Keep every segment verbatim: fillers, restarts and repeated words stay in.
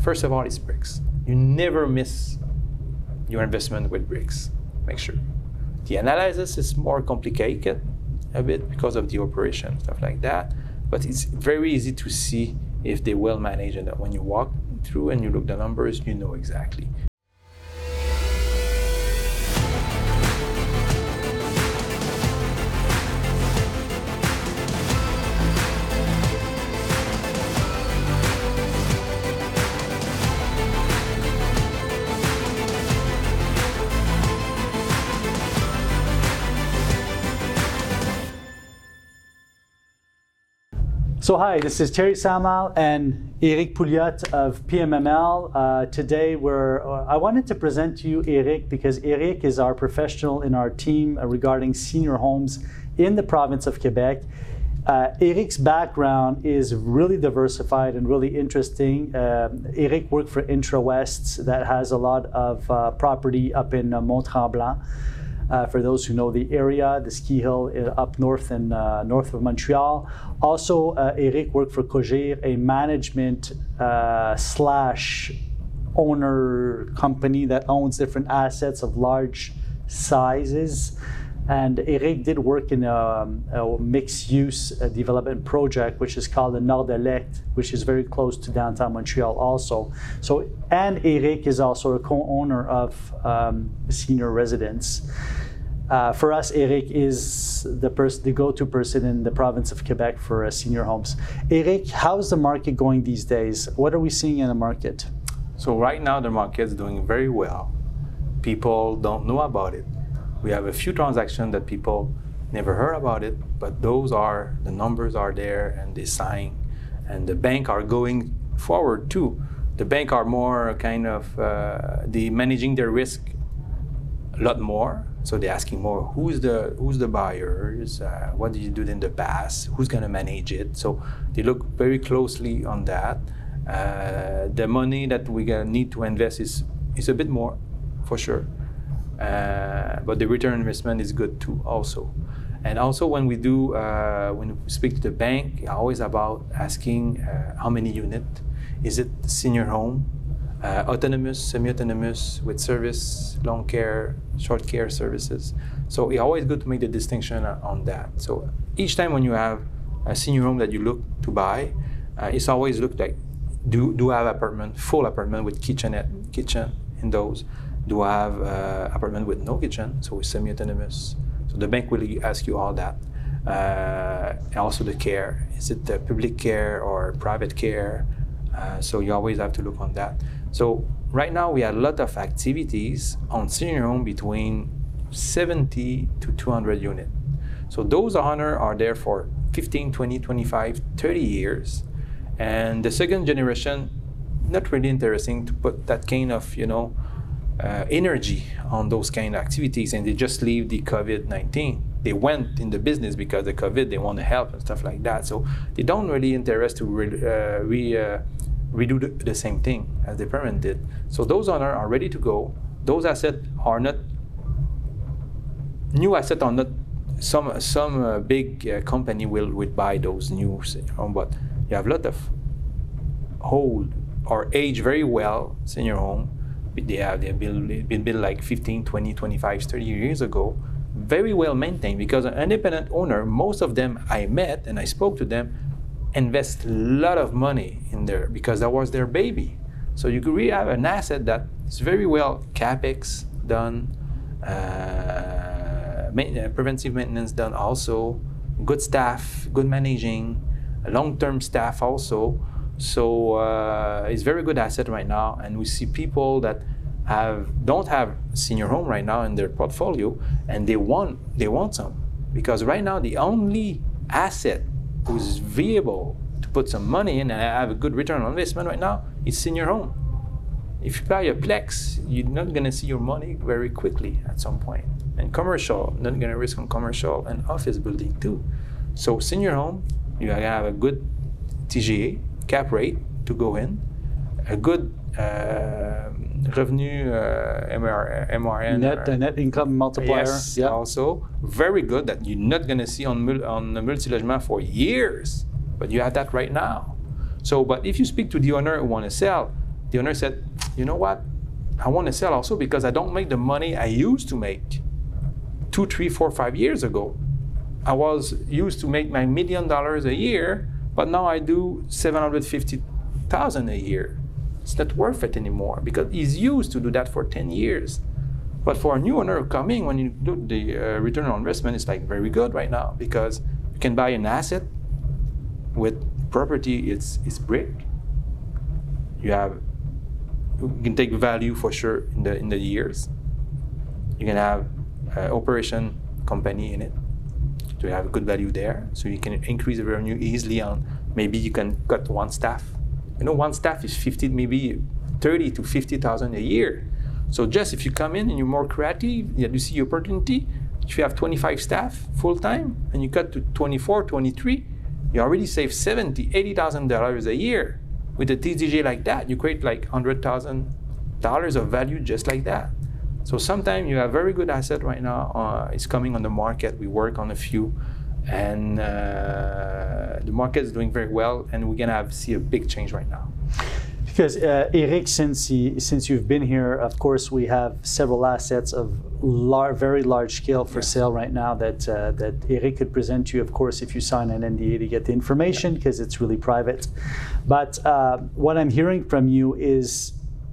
First of all, it's bricks. You never miss your investment with bricks. Make sure. The analysis is more complicated a bit because of the operation, stuff like that. But it's very easy to see if they well manage it. When you walk through and you look the numbers, you know exactly. So hi, this is Thierry Samal and Eric Pouliot of P M M L. Uh, today we're, uh, I wanted to present to you Eric because Eric is our professional in our team uh, regarding senior homes in the province of Quebec. Uh, Eric's background is really diversified and really interesting. Um, Eric worked for IntraWest that has a lot of uh, property up in uh, Mont-Tremblant. Uh, for those who know the area, the ski hill up north and uh, north of Montreal. Also, uh, Eric worked for Cogir, a management uh, slash owner company that owns different assets of large sizes. And Eric did work in a, a mixed-use uh, development project, which is called the Nord-Elect, which is very close to downtown Montreal also. So, and Eric is also a co-owner of um, senior residence. Uh, for us, Eric is the person, the go-to person in the province of Quebec for uh, senior homes. Eric, how's the market going these days? What are we seeing in the market? So right now, the market is doing very well. People don't know about it. We have a few transactions that people never heard about it, but those are, the numbers are there and they sign. And the bank are going forward too. The bank are more kind of, uh, they managing their risk a lot more. So they're asking more, who's the who's the buyers? Uh, what did you do in the past? Who's gonna manage it? So they look very closely on that. Uh, the money that we're gonna need to invest is, is a bit more, for sure. Uh, but the return on investment is good too also. And also when we do, uh, when we speak to the bank, always about asking uh, how many units. Is it senior home, uh, autonomous, semi-autonomous, with service, long care, short care services. So it's always good to make the distinction on that. So each time when you have a senior home that you look to buy, uh, it's always look like, do, do I have apartment, full apartment with kitchenette, kitchen in those? Do I have uh, apartment with no kitchen, so it's semi-autonomous? So the bank will ask you all that. Uh, and also the care, is it the public care or private care? Uh, so you always have to look on that. So right now we have a lot of activities on senior home between seventy to two hundred units. So those owners are there for fifteen, twenty, twenty-five, thirty years. And the second generation, not really interesting to put that kind of, you know, Uh, energy on those kind of activities, and they just leave the COVID nineteen. They went in the business because the COVID, they want to help and stuff like that. So they don't really interest to re, uh, re, uh, redo the, the same thing as the parent did. So those owners are ready to go. Those assets are not, new assets are not, some some uh, big uh, company will, will buy those new, but you have a lot of old or age very well senior home. They have they've been, been built like fifteen, twenty, twenty-five, thirty years ago, very well maintained, because an independent owner, most of them I met and I spoke to them, invest a lot of money in there because that was their baby. So you could really have an asset that is very well capex done, uh, main, preventive maintenance done also, good staff, good managing, long-term staff also. So uh, it's very good asset right now, and we see people that have don't have senior home right now in their portfolio, and they want they want some, because right now the only asset who's viable to put some money in and have a good return on investment right now is senior home. If you buy a Plex, you're not gonna see your money very quickly at some point. And commercial, not gonna risk on commercial and office building too. So senior home, you gotta have a good T G A. Cap rate to go in, a good uh, revenue uh, M R, M R N. Net, uh, net income multiplier. Yes, yep. Also very good that you're not going to see on on the multi-logement for years, but you have that right now. So, but if you speak to the owner who want to sell, the owner said, you know what? I want to sell also because I don't make the money I used to make two, three, four, five years ago. I was used to make my million dollars a year, but now I do seven hundred fifty thousand a year. It's not worth it anymore because he's used to do that for ten years. But for a new owner coming, when you do the uh, return on investment, it's like very good right now because you can buy an asset with property. It's it's brick. You have you can take value for sure in the in the years. You can have an operation company in it. So you have good value there. So you can increase the revenue easily on. Maybe you can cut one staff. You know, one staff is fifty, maybe thirty to fifty thousand a year. So just if you come in and you're more creative, you see opportunity. If you have twenty-five staff full time and you cut to twenty-four, twenty-three, you already save seventy, eighty thousand dollars a year. With a T D J like that, you create like hundred thousand dollars of value just like that. So sometimes you have very good asset right now. Uh, it's coming on the market. We work on a few, and uh, the market is doing very well, and we're gonna have see a big change right now. Because uh, Eric, since he, since you've been here, of course, we have several assets of lar- very large scale for yes. sale right now that uh, that Eric could present to you, of course, if you sign an N D A to get the information, because yeah. it's really private. But uh, what I'm hearing from you is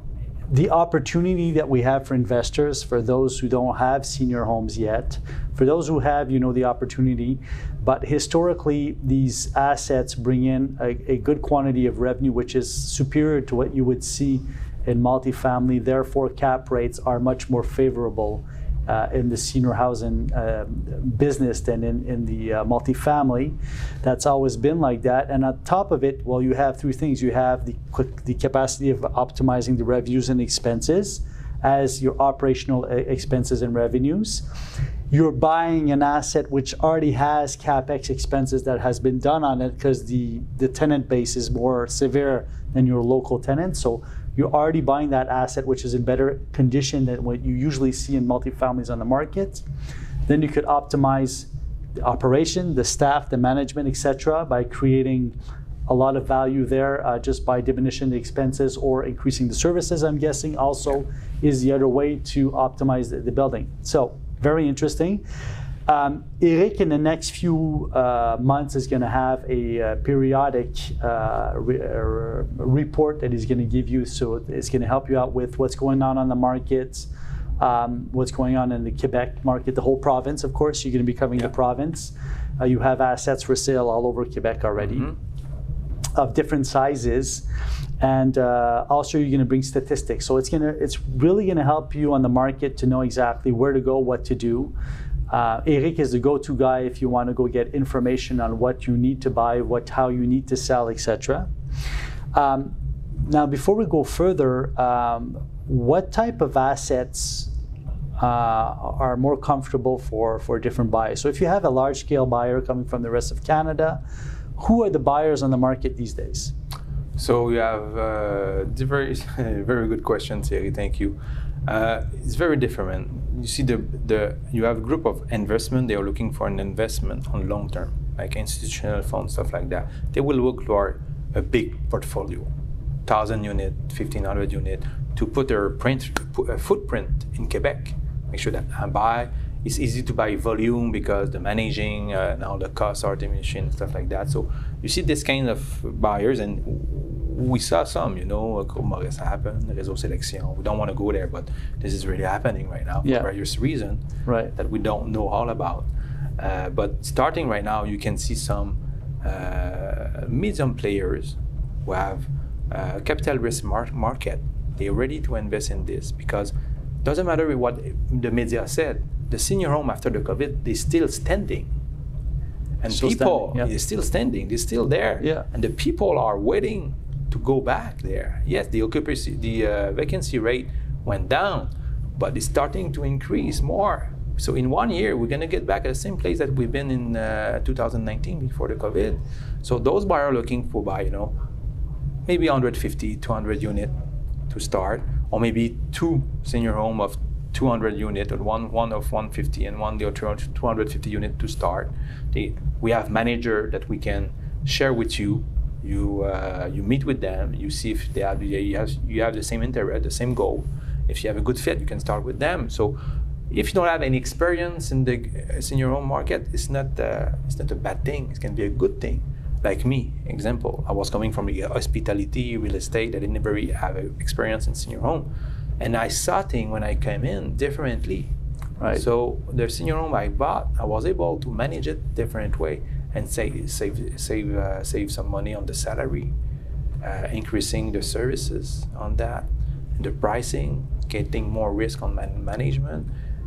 the opportunity that we have for investors, for those who don't have senior homes yet, for those who have, you know, the opportunity. But historically, these assets bring in a, a good quantity of revenue, which is superior to what you would see in multifamily. Therefore, cap rates are much more favorable uh, in the senior housing uh, business than in, in the uh, multifamily. That's always been like that. And on top of it, well, you have three things. You have the, the capacity of optimizing the revenues and expenses as your operational expenses and revenues. You're buying an asset which already has CapEx expenses that has been done on it because the, the tenant base is more severe than your local tenant. So you're already buying that asset which is in better condition than what you usually see in multifamilies on the market. Then you could optimize the operation, the staff, the management, et cetera, by creating a lot of value there uh, just by diminishing the expenses or increasing the services, I'm guessing also is the other way to optimize the, the building. So very interesting. Um, Eric, in the next few uh, months, is going to have a uh, periodic uh, re- uh, report that he's going to give you. So it's going to help you out with what's going on on the markets, um, what's going on in the Quebec market, the whole province, of course. You're going to be covering yeah. the province. Uh, you have assets for sale all over Quebec already. Mm-hmm. Of different sizes, and uh, also you're going to bring statistics. So it's going to, it's really going to help you on the market to know exactly where to go, what to do. Uh, Eric is the go-to guy if you want to go get information on what you need to buy, what, how you need to sell, et cetera. Um, now, before we go further, um, what type of assets uh, are more comfortable for for different buyers? So if you have a large-scale buyer coming from the rest of Canada, who are the buyers on the market these days? So you have uh, very, very good question, Thierry. Thank you. Uh, it's very different. You see, the the you have a group of investment. They are looking for an investment on long term, like institutional funds, stuff like that. They will look for a big portfolio, thousand unit, fifteen hundred unit, to put their print put a footprint in Quebec. Make sure that I buy. It's easy to buy volume because the managing uh, now the costs are diminishing and stuff like that. So you see this kind of buyers, and we saw some, you know, Groupe Maurice happen, Réseau Sélection. We don't want to go there, but this is really happening right now for yeah. various reasons right. that we don't know all about. Uh, but starting right now, you can see some uh, medium players who have uh, capital risk mar- market. They're ready to invest in this because it doesn't matter what the media said. The senior home after the COVID, they're still standing. And still people, standing, yeah. they're still standing, they're still there. Yeah. And the people are waiting to go back there. Yes, the occupancy, the uh, vacancy rate went down, but it's starting to increase more. So in one year, we're gonna get back at the same place that we've been in uh, two thousand nineteen before the COVID. So those buyers are looking for buy, you know, maybe one hundred fifty, two hundred unit to start, or maybe two senior home of two hundred unit, or one one of one hundred fifty and one the other two hundred fifty unit to start. They, we have manager that we can share with you You uh, you meet with them. You see if they have you have you have the same interest, the same goal. If you have a good fit, you can start with them. So, if you don't have any experience in the senior home market, it's not uh, it's not a bad thing. It can be a good thing. Like me, example, I was coming from the hospitality, real estate. I didn't very have experience in senior home, and I saw things when I came in differently. Right. So the senior home I bought, I was able to manage it different way and save save save uh, save some money on the salary, uh, increasing the services on that, the pricing, getting more risk on man- management,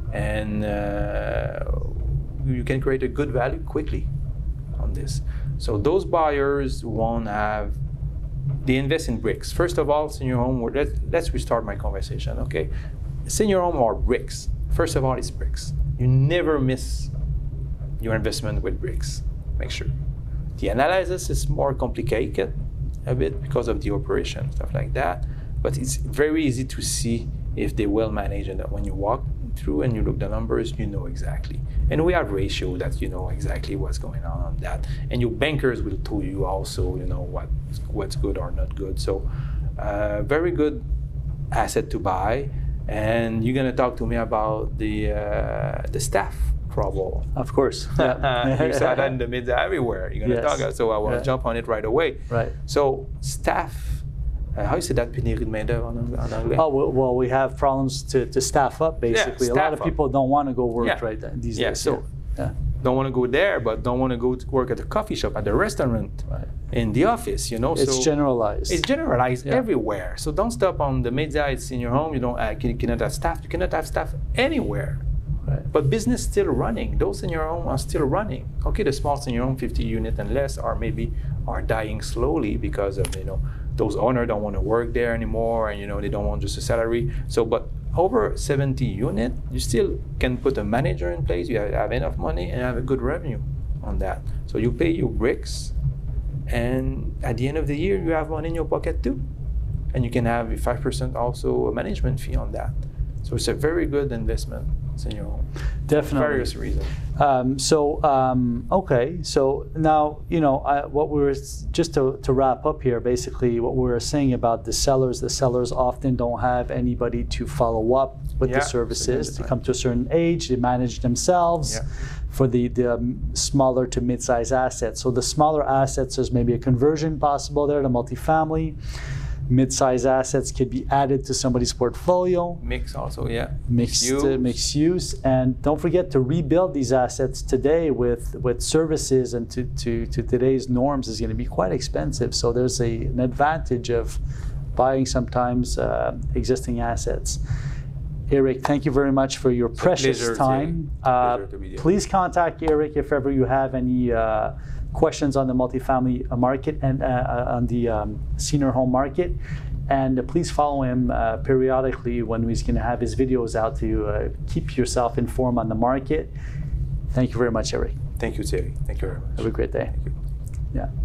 and uh, you can create a good value quickly on this. So those buyers won't have. They invest in bricks. First of all, senior home. Let's let's restart my conversation. Okay, senior home are bricks. First of all, it's bricks. You never miss your investment with bricks. Make sure. The analysis is more complicated a bit because of the operation, stuff like that. But it's very easy to see if they well manage, and that when you walk through and you look the numbers, you know exactly. And we have ratio that you know exactly what's going on on that. And your bankers will tell you also, you know, what what's good or not good. So, uh, very good asset to buy. And you're gonna talk to me about the uh, the staff trouble. Of course. Yeah. You saw that in the media everywhere. You're gonna Yes. talk, so I will Yeah. jump on it right away. Right. So staff, uh, how you say that? Pénurie de main d'œuvre en, ang- en anglais? Oh, well, well, we have problems to, to staff up, basically. a lot staff of up. people don't want to go work Yeah. right th- these Yeah, days. so- yeah. Don't want to go there, but don't want to go to work at the coffee shop, at the restaurant, Right. in the office. You know, It's so generalized. it's generalized Yeah. everywhere. So don't stop on the media. It's in your home. You don't uh, you cannot have staff. You cannot have staff anywhere. Right. But business still running. Those in your home are still running. Okay, the small in your home, fifty unit and less, are maybe are dying slowly because of you know those owners don't want to work there anymore, and you know they don't want just a salary. So, but over seventy unit, you still can put a manager in place. You have, have enough money and have a good revenue on that. So you pay your bricks, and at the end of the year, you have money in your pocket too, and you can have a five percent also a management fee on that. So it's a very good investment in your home. Definitely. Various reasons. Um, so um, okay, so now you know I, what we were just to, to wrap up here. Basically, what we were saying about the sellers. The sellers often don't have anybody to follow up with Yeah, the services. so To that's come to a certain age, they manage themselves. Yeah. For the, the um, smaller to mid-size assets. So the smaller assets, there's maybe a conversion possible there to multifamily. Mid-size assets could be added to somebody's portfolio. Mix also, yeah. Mixed, uh, Use. mixed use, and don't forget to rebuild these assets today with with services and to, to, to today's norms is going to be quite expensive. So there's a, an advantage of buying sometimes uh, existing assets. Eric, thank you very much for your a precious pleasure, time. Thierry. Uh, Pleasure to be here. please contact Eric if ever you have any uh, questions on the multifamily uh, market and uh, uh, on the um, senior home market. And uh, please follow him uh, periodically when he's going to have his videos out to uh, keep yourself informed on the market. Thank you very much, Eric. Thank you, Thierry. Thank you very much. Have a great day. Thank you. Yeah.